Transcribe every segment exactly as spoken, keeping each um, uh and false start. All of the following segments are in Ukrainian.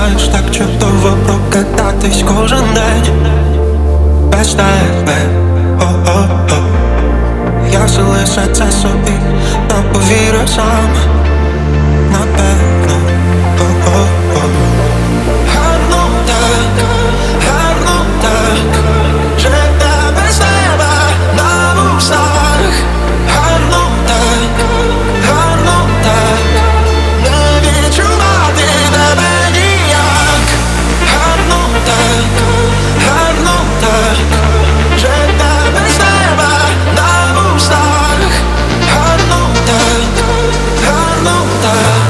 знаєш, так чудово прокататись кожен день без тебе, о-о-о. Я все лише це собі не повірю сам, напевно, о-о-о. Гарно так, гарно так, життя без тебе на вустах. Гарно так, гарно так, не відчувати тебе ніяк. Гарно так, гарно так, життя без тебе на вустах. Гарно так, гарно так.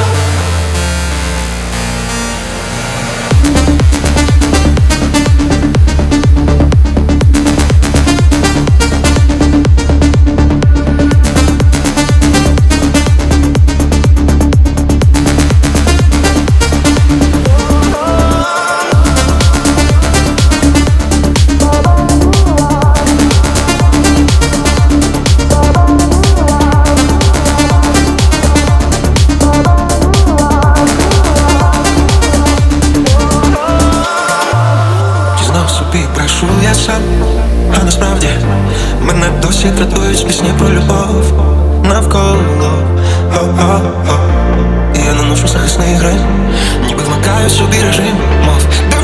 Знов собі брешу я сам, а насправді мене досі дратують пісні про любов навколо, о-о-о. І я наношу захисний грим, ніби вмикаю собі режим, мов